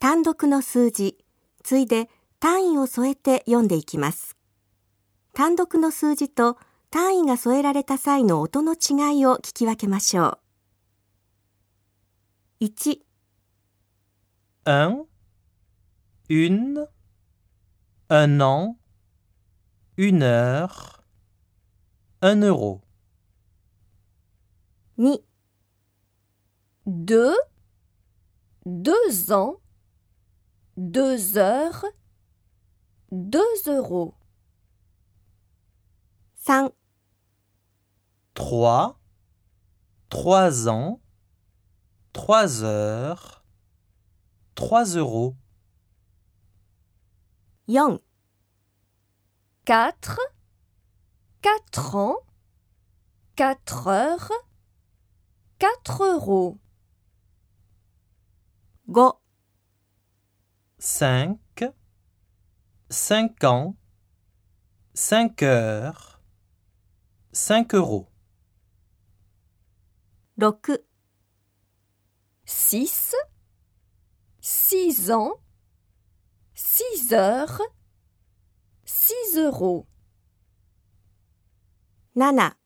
単独の数字、ついで単位を添えて読んでいきます。単独の数字と単位が添えられた際の音の違いを聞き分けましょう。1、 un, une, un an, une heure, un euro. 2、 2, 2 ans, 2 heures, 2 euros. 3、 3, 3 ans, 3 heures, 3 euros. 4、 4, 4 ans, 4 heures, 4 euros. 5、 5, 5 ans, 5 heures, 5 euros. 6、 6, 6 ans, 6 heures, 6 euros. 7、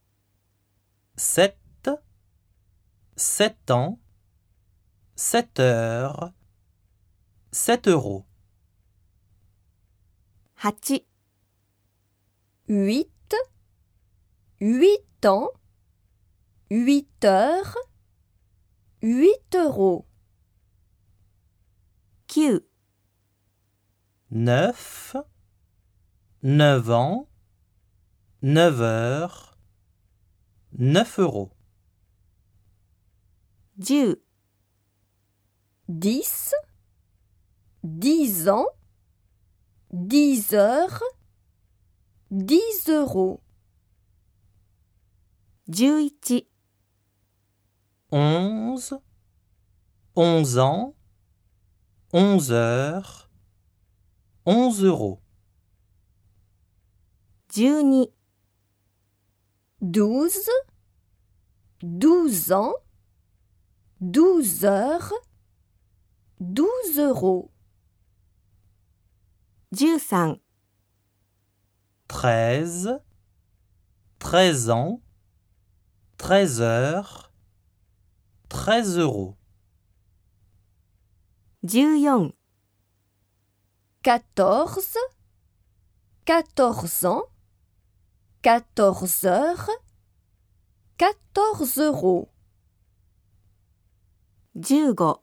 7, 7 ans, 7 heures, 7 euros. 8、 8, 8 ans, 8 heures, 8 euros. 9、 9, 9 ans, 9 heures, 9 euros. 10、 10, 10 ans, 10 heures, 10 euros. 11、 11, 11 ans, 11 heures, 11 euros. 12、 12, 12 ans, 12 heures, 12 euros. 13、 13, 13 ans, 13 heures, 13 euros. 14、 14, 14 ans, 14 heures, 14 euros. 15、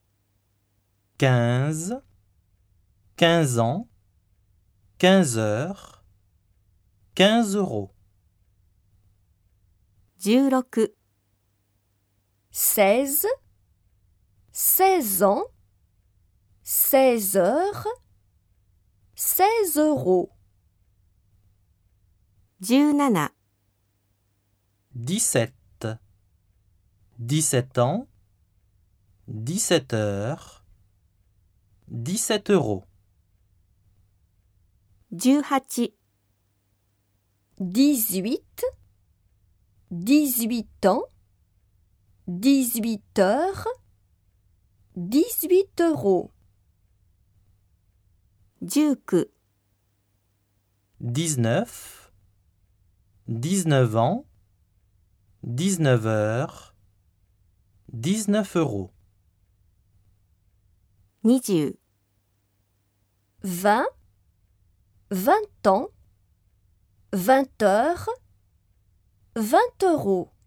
15, 15 ans, 15 heures, 15 euros. 16、 16, 16 ans, 16 heures, 16 euros. 17、 17, 17 ans, 17 heures, 17 euros. 18、 18, 18 ans, 18 heures, 18 euros. 19、 19, 19 ans, 19 heures, 19 euros. 20、 20, 20 ans, 20 heures, 20 euros.